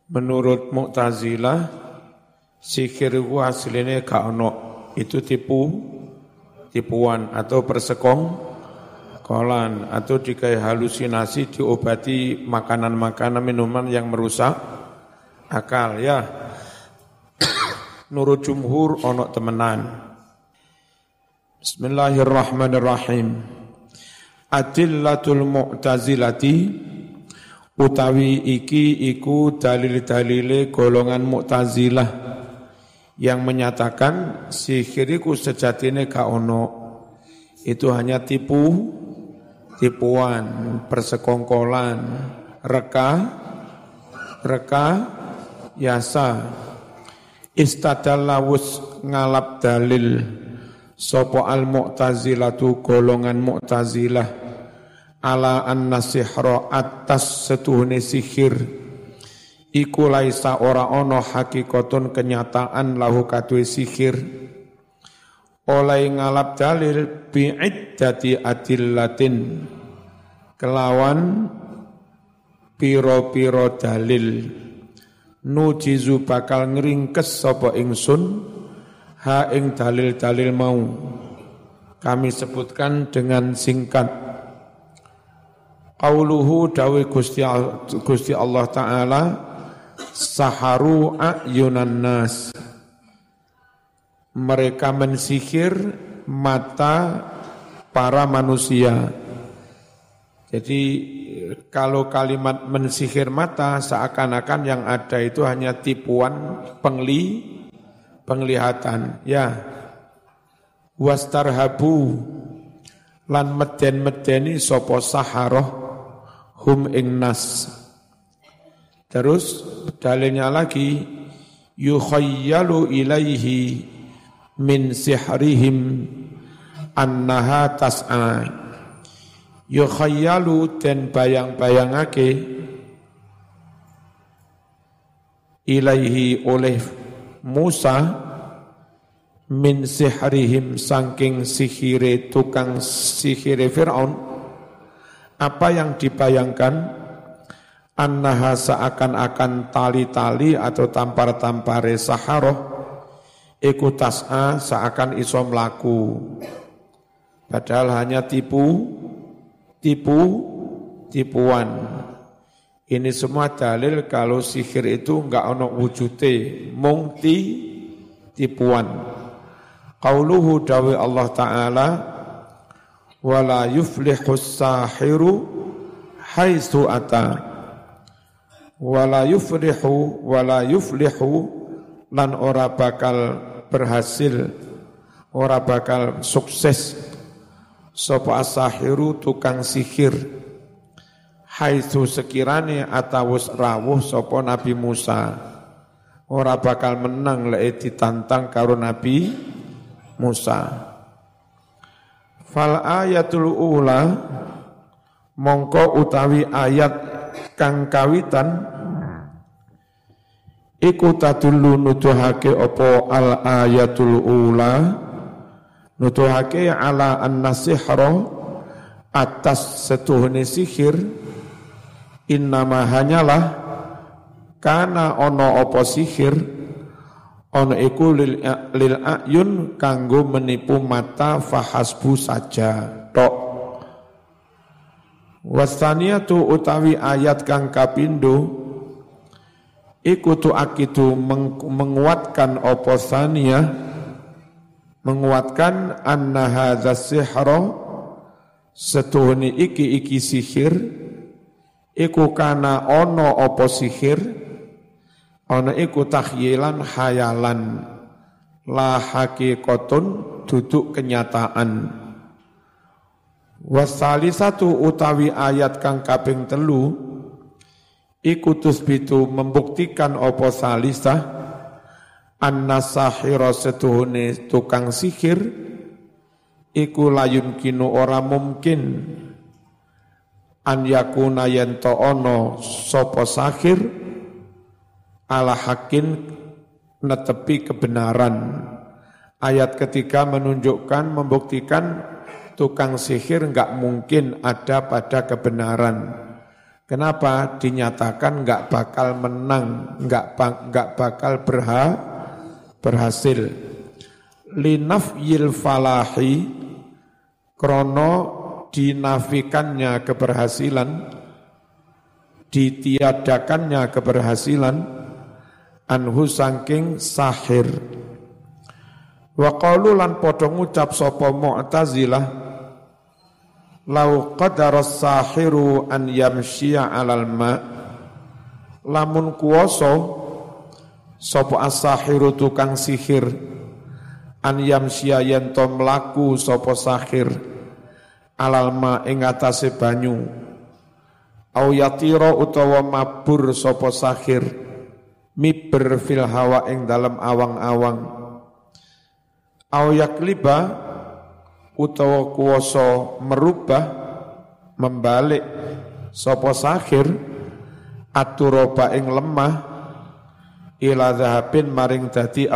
Menurut Mu'tazilah, sihir itu aslinya gak ono, itu tipuan atau persekongkolan atau dikai halusinasi, diobati makanan-makanan minuman yang merusak akal ya. Nurut jumhur ono temenan. Bismillahirrahmanirrahim. Adillatul Mu'tazilati utawi iki iku dalil-dalile golongan Mu'tazilah yang menyatakan sihir iku sejatine gak ono, itu hanya tipuan, persekongkolan, reka yasa. Istadallawus ngalap dalil sopo al-Mu'tazilatu golongan Mu'tazilah ala anna sihra atas setuhune sihir iku laisa ora ono hakikatun kenyataan lahu kadue sihir oleh ngalap dalil bi'iddati adillatin kelawan piro-piro dalil nujizu bakal ngringkes sapa ingsun ha ing dalil-dalil mau kami sebutkan dengan singkat. Qauluhu dawe Gusti Allah Ta'ala saharu a'yunan nas, mereka mensihir mata para manusia. Jadi kalau kalimat mensihir mata seakan-akan yang ada itu hanya tipuan penglihatan ya. Wastarhabu lan meden-medeni sapa saharoh hum ing nas. Terus dalilnya lagi yukhayyalu ilaihi min sihrihim annaha tas'a. Yukhayyalu dan bayang-bayangake ilaihi oleh Musa min sihrihim saking sihire tukang sihire Fir'aun. Apa yang dibayangkan? Annaha seakan-akan tali-tali atau tampar-tampare saharoh iku tas'a seakan iso mlaku. Padahal hanya tipuan. Ini semua dalil kalau sihir itu enggak ono wujude, mung tipuan. Qauluhu dawi Allah Ta'ala wala yuflihus sahiru haitsu ata. Wala yuflihu lan ora bakal berhasil, ora bakal sukses sapa as-sahiru tukang sihir haitsu sekirane atawus rawuh sapa Nabi Musa, ora bakal menang lek ditantang karo Nabi Musa. Fal ayatul ula mongko utawi ayat kang kawitan iku tadullu nuduhake apa al ayatul ula nuduhake ala an-nasihra atas setuhune sihir innama hanyalah kana ono apa sihir ono iku lil ayun kanggo menipu mata fahasbu saja tok. Wastaniyatu utawi ayat kang kapindo iku tuakidu menguatkan apa saniyah, menguatkan anna hadza sihra setuhune iki sihir iku kana ono apa sihir ono iku takhyilan hayalan la haqiqatun duduk kenyataan. Wasalisatu utawi ayat kang kaping 3 iku tusbitu membuktikan apa salisah anna sahira setuhune tukang sihir iku layun kinu ora mungkin an yakuna yanto ono sapa sahir ala hakin netepi kebenaran. Ayat ketiga menunjukkan, membuktikan tukang sihir enggak mungkin ada pada kebenaran. Kenapa? Dinyatakan enggak bakal menang, enggak bakal berhasil. Linafyil falahi, krono dinafikannya keberhasilan, ditiadakannya keberhasilan, anhu saking sahir. Wa qalu lan padha ngucap sapa Mu'tazilah, lau qadara sahiru an yamshiya 'alal ma, lamun kuwasa sapa as-sahiru tukang sihir an yamshiya yen to mlaku sapa sahir 'alal ma ing atase banyu, au yatira utawa mabur sapa sahir miber fil hawa ing dalem awang-awang, au yakliba utawa kuwasa merubah membalik sapa sahir aturoba ing lemah ila dhahabin maring dadi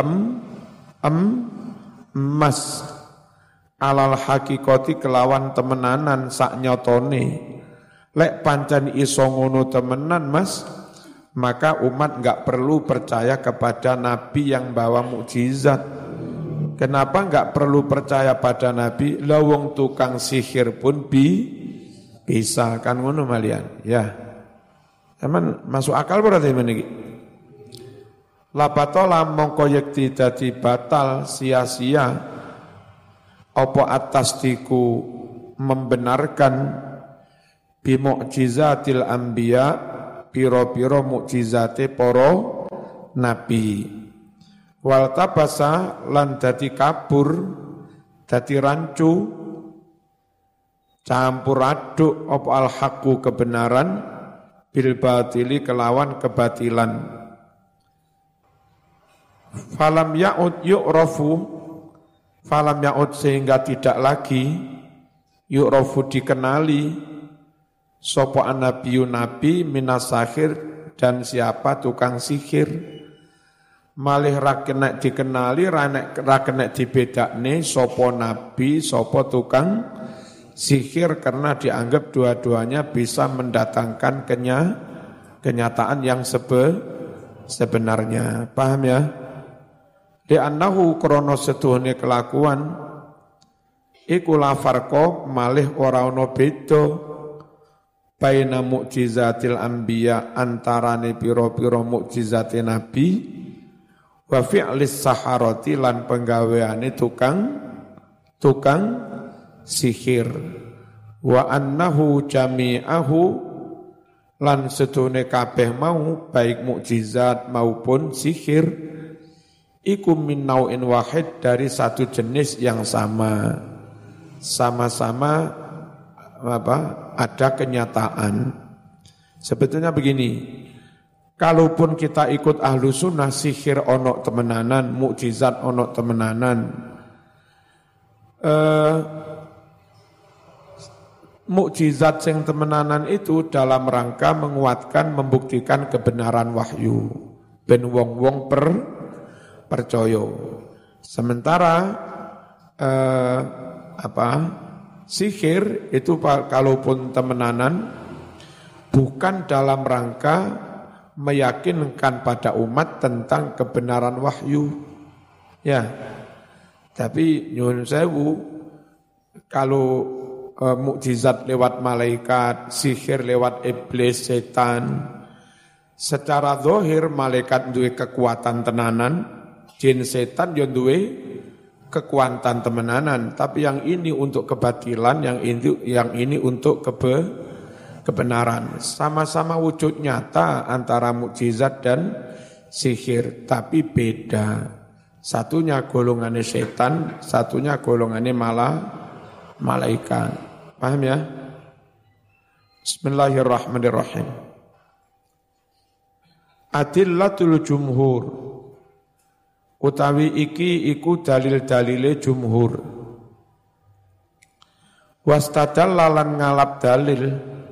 emas alal hakikati kelawan temenanan sak nyatane. Lek pancen iso ngono temenan Mas, maka umat enggak perlu percaya kepada nabi yang bawa mukjizat. Kenapa enggak perlu percaya pada nabi? Lawong tukang sihir pun bisa kan ngono malian. Ya. Emang masuk akal berarti meniki. Lapatola mongko yekti dadi batal sia-sia apa atas diku membenarkan bi mukjizatil anbiya piro-piro mukjizate para nabi. Wal tabasa lan dadi kabur, dadi rancu, campur aduk apa al haqqu kebenaran bil batili kelawan kebatilan. Falam ya'ud yu'rafu, falam ya'ud sehingga tidak lagi yu'rafu dikenali sapa annabiyyu nabi minas sahir dan siapa tukang sihir. Malih ra kena dikenali, ra kena dibedakne sapa nabi, sapa tukang sihir, karena dianggap dua-duanya bisa mendatangkan kenyataan yang sebenarnya. Paham ya? Li'annahu krono setuhne kelakuan iku la farqa malih ora ana beda baina mukjizatil anbiya antarane pira-pira mukjizate nabi wa fi'lis saharati lan penggaweane tukang sihir, wa annahu jami'ahu lan sedune kabeh mau baik mukjizat maupun sihir iku min nau'in wahid dari satu jenis yang sama-sama ada kenyataan. Sebetulnya begini, kalaupun kita ikut ahlu sunnah, sihir onok temenanan, mukjizat onok temenanan. Mukjizat yang temenanan itu dalam rangka menguatkan, membuktikan kebenaran wahyu. Ben wong-wong percaya. Sementara sihir itu kalaupun temenanan bukan dalam rangka meyakinkan pada umat tentang kebenaran wahyu. Ya. Tapi nyuwun sewu, kalau mukjizat lewat malaikat, sihir lewat iblis, setan, secara zahir malaikat duwe kekuatan tenanan, jin setan yo duwe kekuatan temenanan, tapi yang ini untuk kebatilan, yang ini untuk kebenaran. Sama-sama wujud nyata antara mukjizat dan sihir, tapi beda. Satunya golongannya setan, satunya golongannya malaikat. Paham ya? Bismillahirrahmanirrahim. Adillatul jumhur, utawi iki iku dalil-dalile jumhur. Wastadalla lan ngalap dalil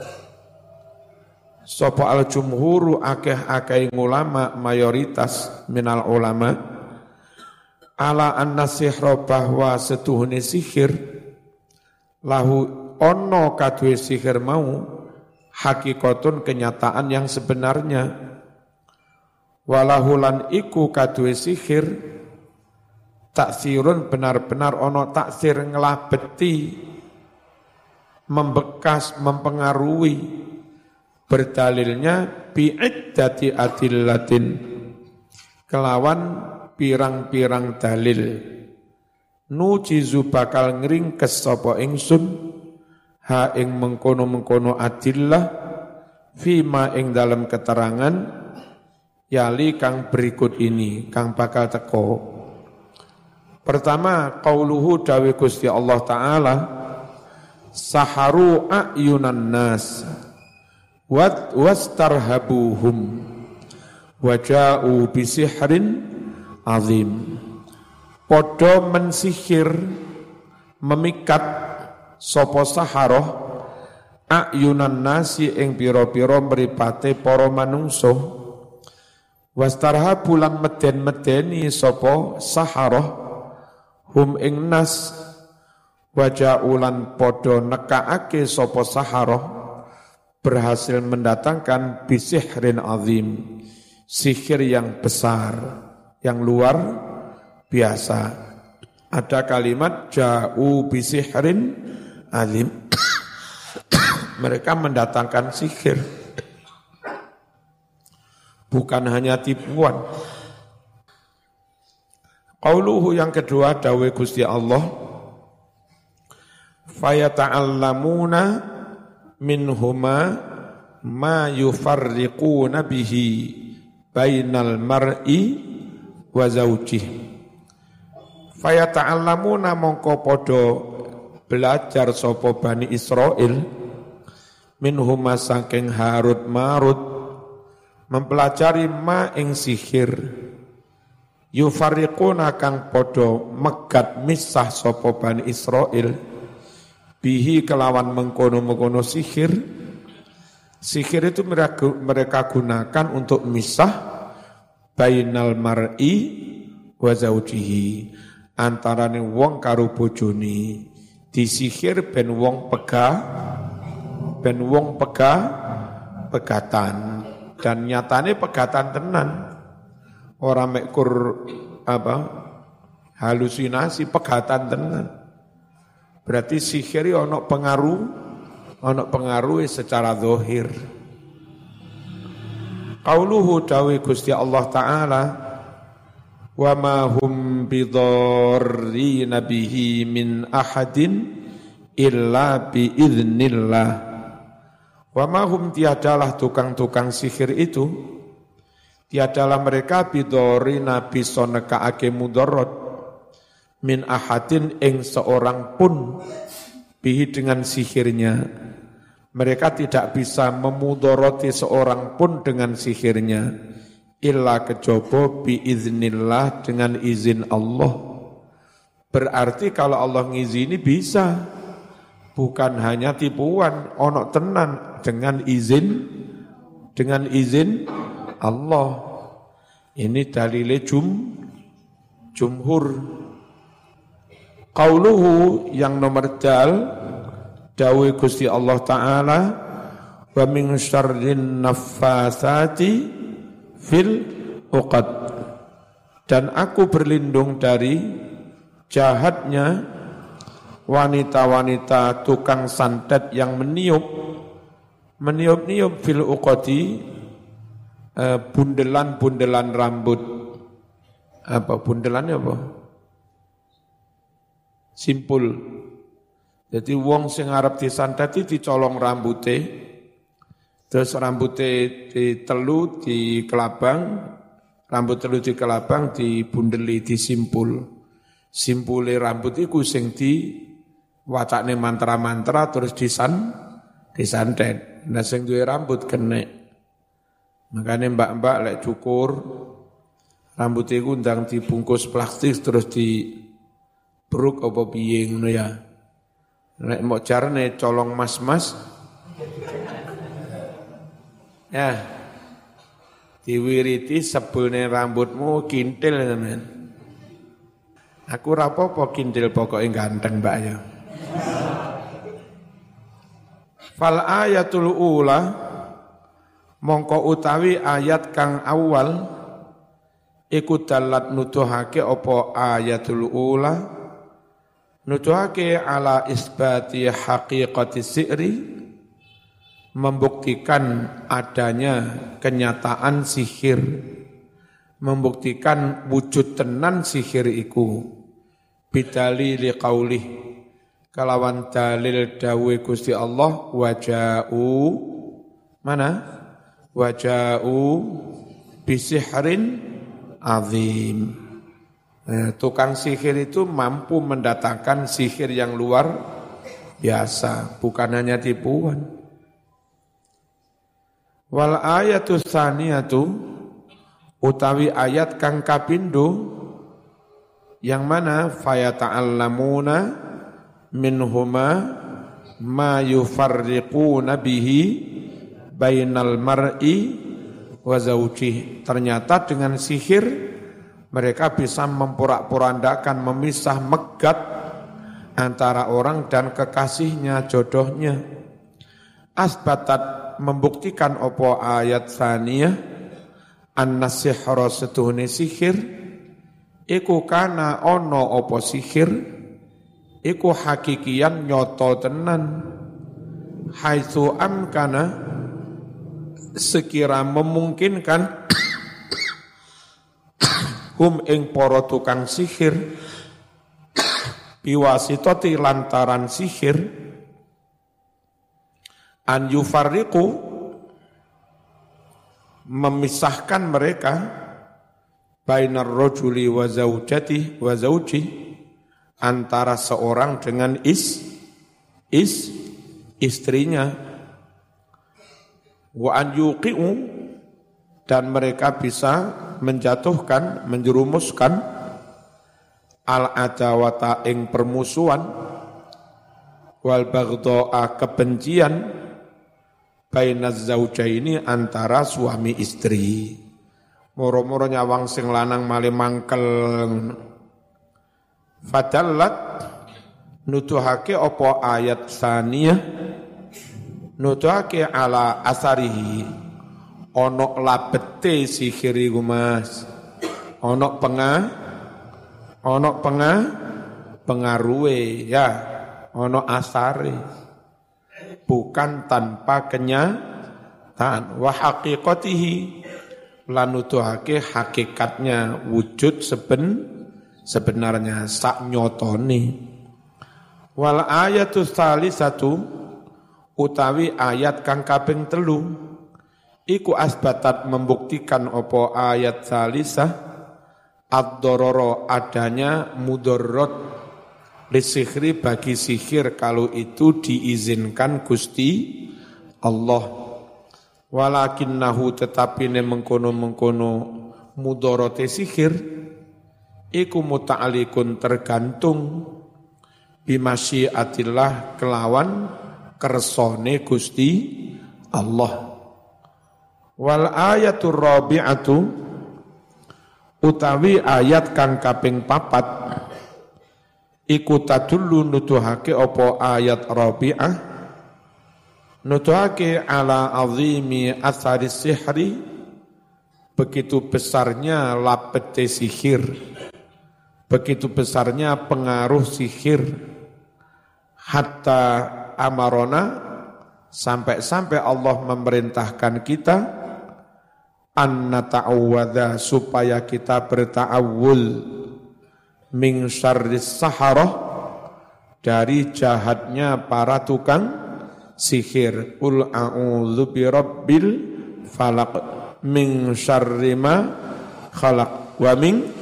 sapa al jumhuru akeh-akeh ulama, mayoritas minal ulama, ala anna sihra bahwa setuhune sihir lahu ono kadwe sihir mau hakikatun kenyataan yang sebenarnya. Walahulan iku kaduwe sihir taksirun benar-benar ono taksir ngelabeti, membekas, mempengaruhi. Berdalilnya bi'iddati adillatin, kelawan pirang-pirang dalil. Nujizu bakal ngringkes sapa ingsun ha ing mengkono-mengkono adillah fima ing dalam keterangan yali kang berikut ini, kang bakal teko. Pertama, qauluhu dawe Gusti Allah Ta'ala, saharu a'yunan nas wastarhabuhum waja'u bisihrin azim. Podo mensihir, memikat sapa saharoh a'yunan nasi ing pira-pira mripate para manungsa. Wastarhabu lan meden-medeni sapa saharoh hum ing nas waja'ulan podo nekaake sapa saharoh berhasil mendatangkan bisihrin azim, sihir yang besar, yang luar biasa. Ada kalimat ja'u bisihrin azim. Mereka mendatangkan sihir, bukan hanya tipuan. Qauluhu yang kedua dawe Gusti Allah, fayata'allamuna minhuma ma yufarriquna bihi bainal mar'i wa zawjih. Fayata'allamuna mongko podo belajar sapa Bani Israil minhuma saking Harut Marut, mempelajari ma ing sihir yufarriquna kang podo megat misah sapa Bani Israil bihi kelawan mengkono-mengkono sihir. Sihir itu mereka gunakan untuk misah bainal mar'i wa zaujihi, antarane wong karo bojone. Disihir ben wong pegatan, dan nyatane pegatan tenan. Ora mekur halusinasi, pegatan tenan. Berarti sihir ono pengaruh secara zahir. Qauluhu dawi Gusti Allah Ta'ala, wa ma hum bidarrina bihi min ahadin illa biiznillah. Wa ma hum tiadalah tukang-tukang sihir itu, tiadalah mereka bidarrina bisa nekaake mudarat min ahadin ing seorang pun bihi dengan sihirnya. Mereka tidak bisa memudoroti seorang pun dengan sihirnya illa kejaba biiznillah, dengan izin Allah. Berarti kalau Allah ngizini bisa, bukan hanya tipuan, ono tenan dengan izin Allah. Ini dalile jumhur. Qauluhu yang nomor dal dawe Gusti Allah Ta'ala, wa min syarrin naffatsati fil uqad, dan aku berlindung dari jahatnya wanita-wanita tukang santet yang meniup-niup fil uqadi, bundelan-bundelan rambut. Apa bundelannya apa? Simpul. Jadi wong sing arep disanteti dicolong rambute, terus rambute ditelu di kelabang, rambut telu di kelabang dibundeli disimpul. Simpule rambut iku sing diwacakne mantra-mantra terus disantet. Nah sing duwe rambut kenek. Makane mbak-mbak lek cukur rambut iku ndang dibungkus plastik terus dibruk apa piye ngono ya. Nek mau carane colong mas-mas, ya diwiriti sebelne rambutmu kintil teman. Aku rapopo kintil pokoknya ganteng mbak ya. Fal ayatul ula mongko utawi ayat kang awal iku dalat nuduhake apa ayatul ula nuduhake ala isbati haqiqati si'ri membuktikan adanya kenyataan sihir, membuktikan wujud tenan sihir iku bidalili qaulih kalawan dalil dawe Gusti Allah waja'u mana waja'u bisihrin azim. Tukang sihir itu mampu mendatangkan sihir yang luar biasa, bukan hanya tipuan. Wal ayatus tsaniyatu utawi ayat kang kapindo yang mana fayata'allamuna minhuma ma yufarriquna bihi bainal mar'i wa zawjih. Ternyata dengan sihir mereka bisa memporak-porandakan, memisah megat antara orang dan kekasihnya, jodohnya. Asbatat membuktikan opo ayat saniyah an-nasihra setuhune sihir iku kana ono opo sihir iku hakikian nyoto tenan haitsu amkana sekira memungkinkan hum ing para tukang sihir biwasitati lantaran sihir an yufarriqu memisahkan mereka bainar rajuli wa zaujati wa zauji antara seorang dengan istrinya wa an yuqi'u dan mereka bisa menjatuhkan menjerumuskan al adawata ing permusuhan wal baghdha'a kebencian bainaz zaujaini antara suami istri. Moro-moro nyawang sing lanang male mangkel. Fadallat nuduhake apa ayat saniyah nuduhake ala asarihi ono labete sihir iku Mas. Ono pengaruhe ya, ono asare. Bukan tanpa kenyataan wa haqiqatihi lanutuhake hakikatnya wujud sebenarnya sak nyotone. Wal ayatu tsalisatu utawi ayat kang kaping 3 iku asbatat membuktikan apa ayat tsalisah ad-darara adanya mudarrat lisihri bagi sihir kalau itu diizinkan Gusti Allah. Walakinnahu tetapi ne mengkono-mengkono mudorote sihir iku muta'alikun tergantung bimasyiatillah kelawan kersone Gusti Allah. Wal ayatur rabi'atu utawi ayat kang kaping 4 iku tadullu nuduhake apa ayat rabi'ah nuduhake ala azimi athari sihri begitu besarnya lapete sihir begitu besarnya pengaruh sihir hatta amarona sampai-sampai Allah memerintahkan kita an nata'awwadha supaya kita berta'awul min syarris saharah dari jahatnya para tukang sihir. Qul a'udzu birabbil falaq min syarri ma khalaq wa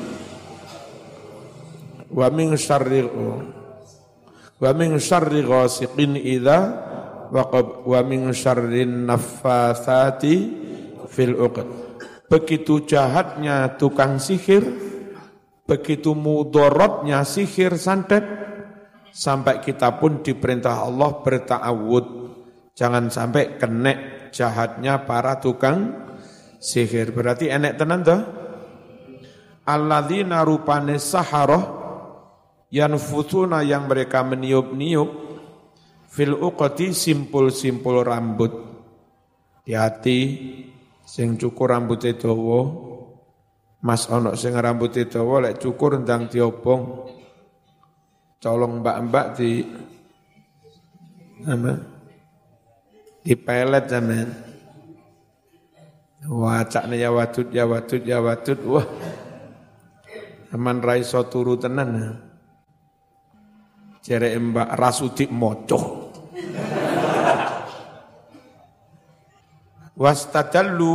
min syarri ghasiqin idza waqab wa min syarrin naffatsati fil 'uqad. Begitu jahatnya tukang sihir, begitu mudaratnya sihir santet, sampai kita pun diperintah Allah berta'awud. Jangan sampai kena jahatnya para tukang sihir. Berarti enek tenan toh? Alladzina rupane saharah yanfutsuna yang mereka meniup-niup fil uqati simpul-simpul rambut. Hati sing cukur rambutnya dawa, mas ono sing rambutnya dawa lek cukur ndang diobong. Colong mbak-mbak di apa? Di pelet zaman. Wah, cakne ya wadud. Wah. Aman raiso turu tenan. Jere Mbak Rasudik mocoh. Wastadallu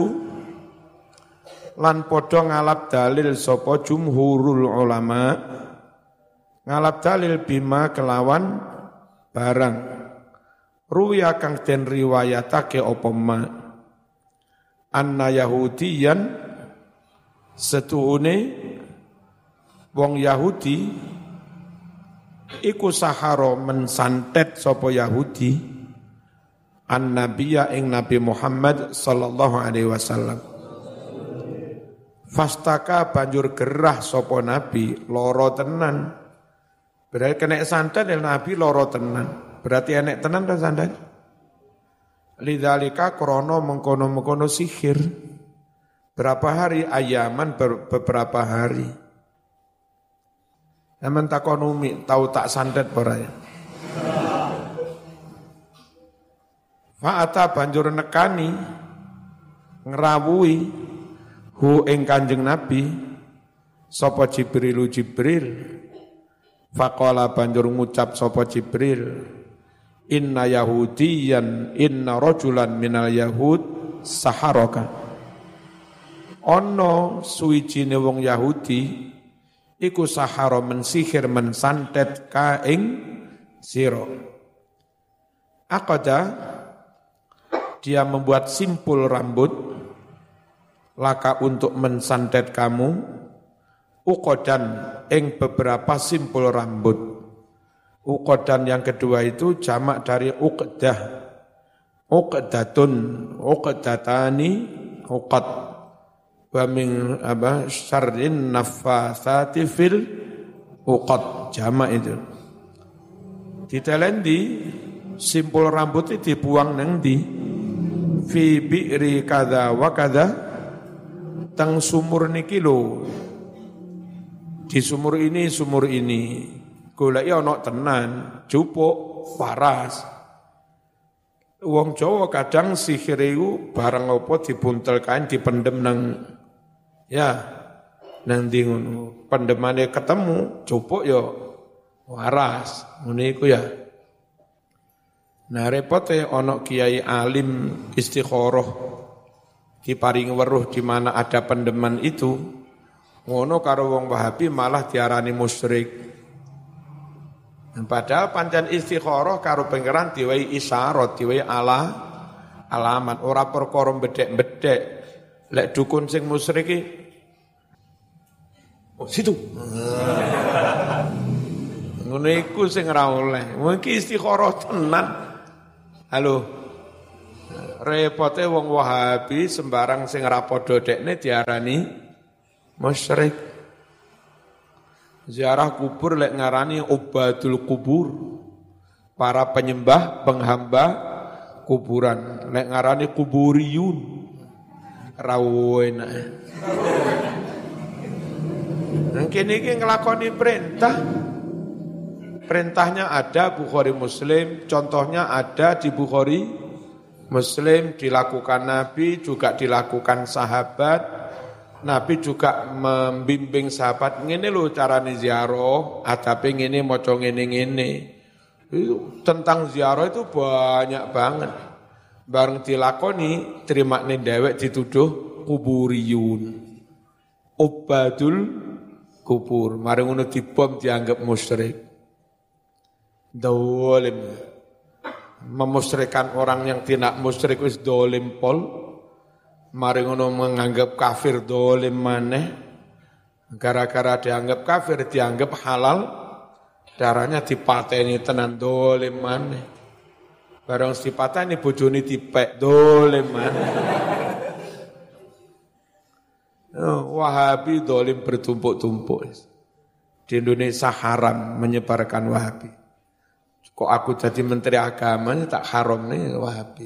lan padha ngalap dalil sapa jumhurul ulama, ngalap dalil bima kelawan barang ruya kang den riwayatake apa ma anna yahudiyan setuhune wong Yahudi iku sahara mensantet sapa Yahudi an-nabiyya ing Nabi Muhammad sallallahu alaihi wasallam. Fastaka banjur gerah sapa Nabi, loro tenan. Berarti kena santet ya Nabi loro tenan. Berarti enek tenan ta santet? Lidzalika krana mengkono-mengkono sihir. Berapa hari? Ayaman beberapa hari. Aman takon umi tahu tak santet ora ya? Fa'ata banjur nekani ngrawuhi hu ing Kanjeng Nabi sapa Jibril. Faqala banjur ngucap sapa Jibril, inna yahudiyan inna rajulan minal yahud saharaka. Ono suwijine wong Yahudi iku sahara mensihir mensantet ka ing sira. Aqada dia membuat simpul rambut laka untuk mensantet kamu, uqodan ing beberapa simpul rambut. Uqodan yang kedua itu jamak dari uqdah. Uqdatun, uqdatani, uqad. Wa min syarrin naffatsati fil uqad, jamak itu. Ditelendi simpul rambut itu dibuang nang ndi? Fi bi'ri kada wa kada tang sumur niki lho. Di sumur ini goleki ana tenan, jupuk, waras. Wong Jawa kadang sihir iku barang apa dibuntel kain dipendem nang ndi ngono. Pendemane ketemu, jupuk ya waras. Ngene iku ya. Nah repote ono kiai alim istikharah diparingi weruh di mana ada pendeman itu, ngono karo wong Wahabi malah diarani musyrik. Padahal pancen istikharah karo pangeran diwehi isyarat, diwehi alamat, ora perkara bedhek-bedhek. Lek dukun sing musyrik iki situ. Ngono iku sing ora oleh. Mungkin istikharah tenan. Halo, repote wong Wahabi sembarang sing ra padha dekne diarani musyrik. Ziarah kubur lek ngarani ubadul kubur, para penyembah penghamba kuburan. Lek ngarani kuburiyun, rawuh enak. Mungkin iki nglakoni perintah. Perintahnya ada Bukhari Muslim, contohnya ada di Bukhari Muslim, dilakukan Nabi, juga dilakukan sahabat. Nabi juga membimbing sahabat, ngene lho carane ziarah, adabe ngene maca ngene-ngene. Itu tentang ziarah itu banyak banget. Bareng dilakoni, terimakne dhewek dituduh kuburiyun. Ubadul kubur, mari ngono dibom dianggap musyrik. Dolim, memusyrikan orang yang tidak musyrik wis dolim pol, mari ngono menganggap kafir dolim maneh, gara-gara dianggap kafir dianggap halal, darahnya dipateni tenan dolim maneh, barang dipateni bojone dipek dolim maneh. Wahabi dolim bertumpuk-tumpuk. Di Indonesia haram menyebarkan Wahabi. Kok aku jadi menteri agama tak haram nih Wahabi.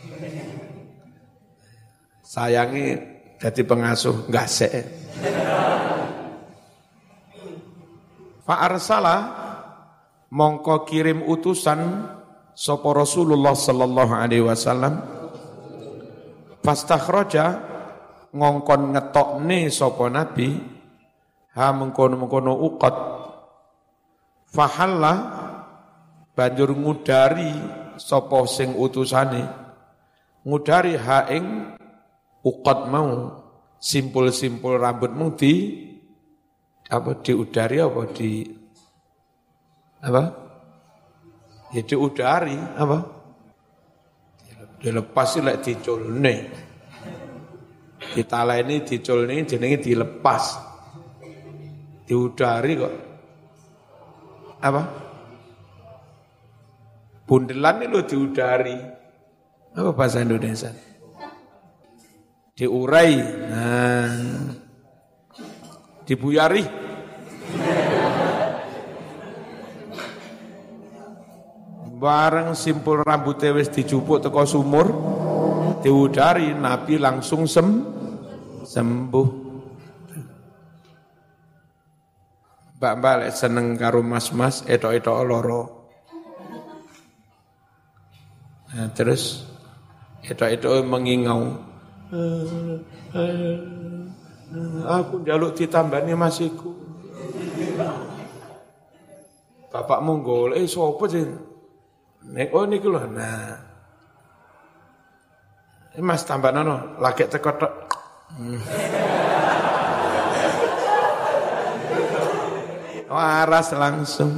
Sayangi jadi pengasuh gasek. Fa arsala mongko kirim utusan sapa Rasulullah sallallahu alaihi wasallam fastakhraja ngongkon ngetokne sapa nabi ha mengkono-mengkono uqad fahalla banjur ngudari sapa sing utusane ngudari ha ing uqad mau simpul-simpul rambutmu diudari apa ya diudari apa dilepas lek diculne ditaleni diculne jenenge dilepas diudari kok apa bundelan itu diudari apa bahasa Indonesia diurai dibuyari bareng simpul rambutnya wis dijupuk teko sumur diudari Nabi langsung sembuh. Mbak-mbak lek seneng karo mas-mas etok-etok loro. Nah, terus etok-etok mengingau. Aku njaluk ditambani masiku. Bapakmu golek sapa sih? Nek niku lho. Nah. Mas tambah nono, lagi teko tok. Waras langsung.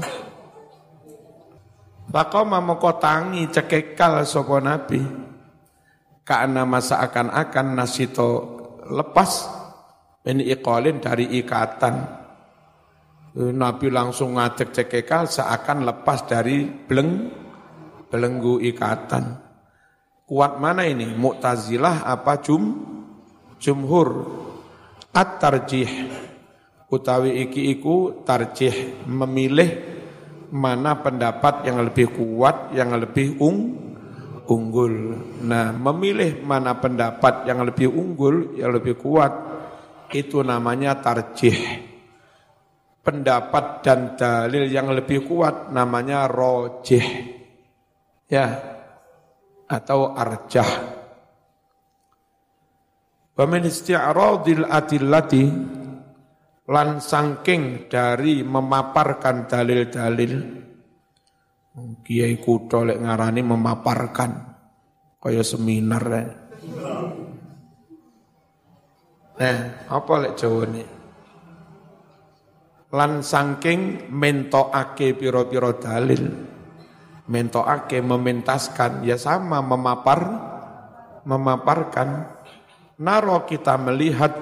Bakoma moko tangi cekekal sapa nabi. Karena masa akan nasito lepas ini iqalin dari ikatan. Nabi langsung ngadeg cekekal seakan lepas dari belenggu ikatan. Kuat mana ini? Mu'tazilah apa jumhur? At-tarjih utawi iku tarjih memilih mana pendapat yang lebih kuat, yang lebih unggul. Nah, memilih mana pendapat yang lebih unggul, yang lebih kuat, itu namanya tarjih. Pendapat dan dalil yang lebih kuat namanya rojih. Ya, atau arjah. Wa min isti'radil adillati lan sangking dari memaparkan dalil-dalil. Kiai kutho lek ngarani memaparkan kaya seminar. Apa lek jawane? Lan sangking mentokake pira-pira dalil. Mentokake mementaskan ya sama memaparkan naro kita melihat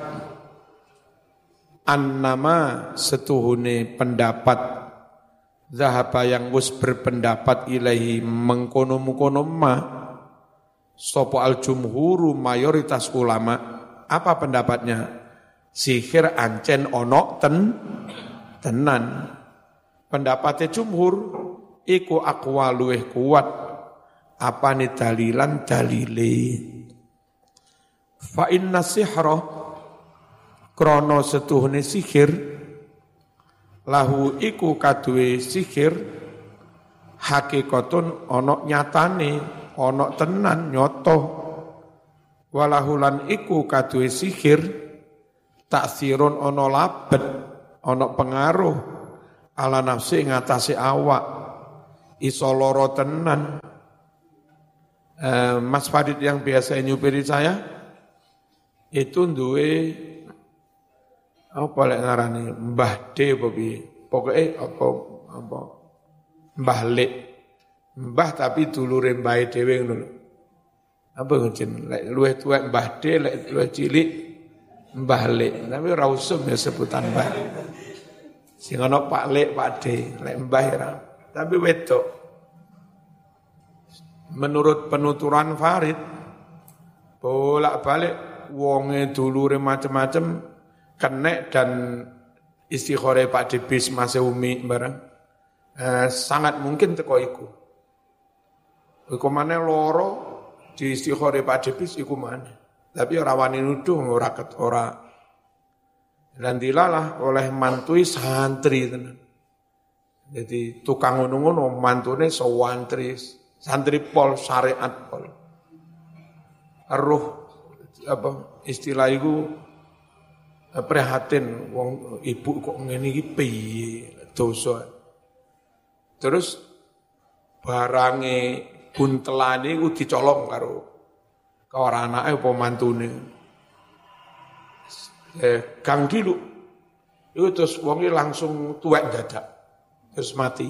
annama setuhune pendapat zahaba yang wis berpendapat ilahi mengkono-mengkono ma sapa al jumhuru mayoritas ulama apa pendapatnya sihir ancen ono tenan pendapatnya jumhur iku aqwa luweh kuat apane dalilan dalile fa inna sihra krana setuhune sihir lahu iku kaduwe sihir hakikatun ana nyatane ana tenan nyoto walahulan iku kaduwe sihir taksirun ana labet ana pengaruh ala nafsi ngatasi awak iso loro tenan. Mas Farid yang biasa nyupiri saya itu duwe apa lek ngarani Mbah D apa piye pokoke apa Mbah Lek Mbah tapi dulure mbahe dhewe ngono lho apa ngono lek luwih tuwek Mbah D lek luwih cilik Mbah Lek tapi ora usum ya sebutan Mbah sing ana Pak Lek Pak D lek Mbah ora tapi wedok. Menurut penuturan Farid, bolak-balik wonge dulure macam-macam kenek dan istikhore Pak Debis Mas Umi barang. sangat mungkin teko iku. Iku maneh loro di istikhore Pak Debis iku maneh. Tapi ora wani nuduh ora. Dan dilalah oleh mantui santri tenan. Jadi tukang ngono-ngono mantune sewantri, santri pol syariat pol. Roh apa istilah iku prihatin wong ibu kok ngene iki piye dosa. Terus barange buntelane iku dicolong karo anake apa mantune. Kang Dilu itu terus wonge langsung tuwek dadak. Terus mati.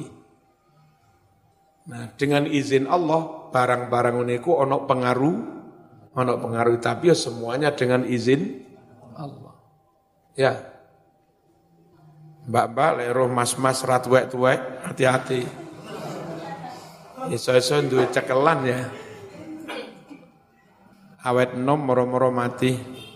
Nah, dengan izin Allah, barang-barang niku ono pengaruh tapi ya semuanya dengan izin Allah. Ya. Mbak-mbak lek roh mas-mas ra tuwek-tuwek, hati-hati. Iso-iso duwe cekelan ya. Awet enom moro-moro mati.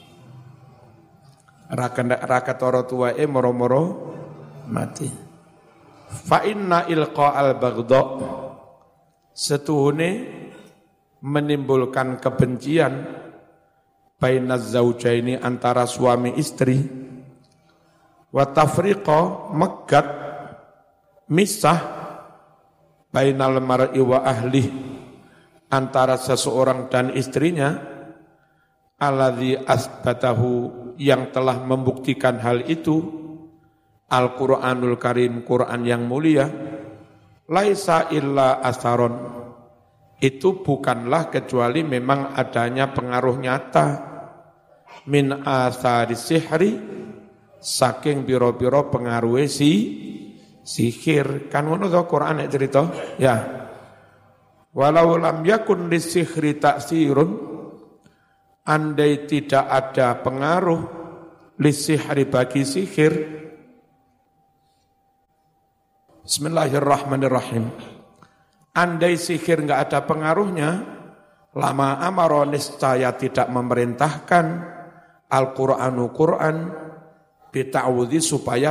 Ra ketara tuweke moro-moro mati. Fa inna ilqa al-baghdha setuhune menimbulkan kebencian bainaz zaujaini antara suami istri wa tafriqa megat misah bainal mar'i wa ahli antara seseorang dan istrinya alladzi asbatahu yang telah membuktikan hal itu Al-Quranul Karim, Quran yang mulia, laisa illa asaron, itu bukanlah kecuali memang adanya pengaruh nyata, min asari sihri, saking biro-biro pengaruh sihir, kan ngono to Quran cerita, ya. Walau lam yakun lisihri taksirun, andai tidak ada pengaruh lisihri bagi sihir, Bismillahirrahmanirrahim. Andai sihir enggak ada pengaruhnya, lama amaro niscaya tidak memerintahkan Al-Qur'anu Qur'an bita'awudhi supaya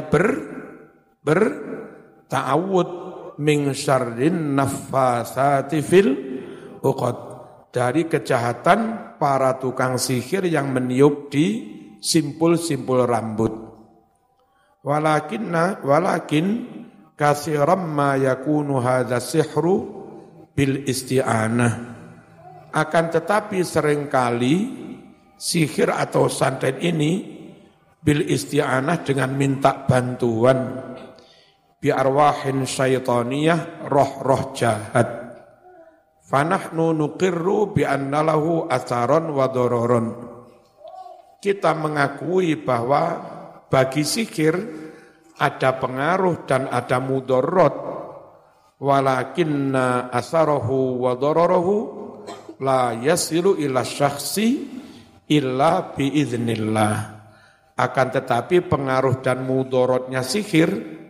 ta'awud min syarrin naffasati fil uqad, dari kejahatan para tukang sihir yang meniup di simpul-simpul rambut. Walakin kasiram ma yakunu hadza sihru bil isti'anah, akan tetapi seringkali sihir atau santet ini bil isti'anah dengan minta bantuan bi arwahin syaitaniyah, roh-roh jahat. Fanahnu nuqirru bi anna lahu atharon wa dororon, kita mengakui bahwa bagi sihir ada pengaruh dan ada mudorot, walakinna asarahu wa dararahu la yasilu ila syakhsi illa biiznillah. Akan tetapi pengaruh dan mudorotnya sihir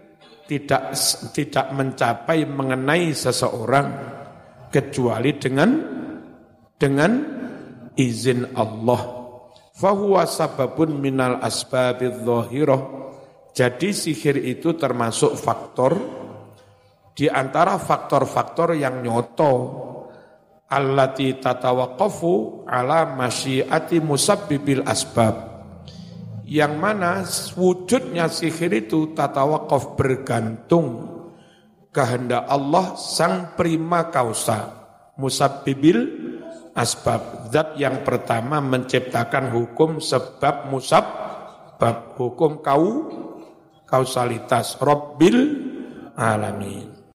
tidak mencapai mengenai seseorang kecuali dengan izin Allah. Fahuwa sababun minal asbabidz dhahirah. Jadi sihir itu termasuk faktor di antara faktor-faktor yang nyoto allati tatawaqqafu ala masyiati musabbibil asbab, yang mana wujudnya sihir itu tatawaqqaf bergantung kehendak Allah sang prima causa musabbibil asbab, zat yang pertama menciptakan hukum sebab musabbab, hukum kausalitas Rabbil alamin.